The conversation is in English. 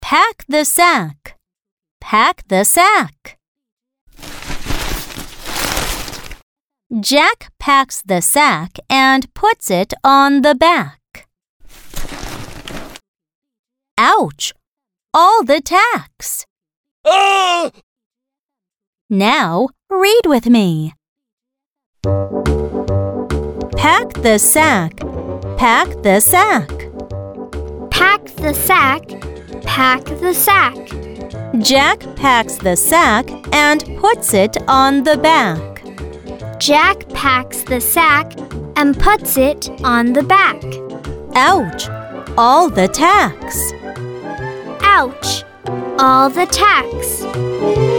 Pack the sack. Pack the sack. Jack packs the sack and puts it on the back. Ouch! All the tacks. Ah! Now read with me. Pack the sack. Pack the sack. Pack the sack. Pack the sack. Jack packs the sack and puts it on the back. Jack packs the sack and puts it on the back. Ouch! All the tacks. Ouch! All the tacks.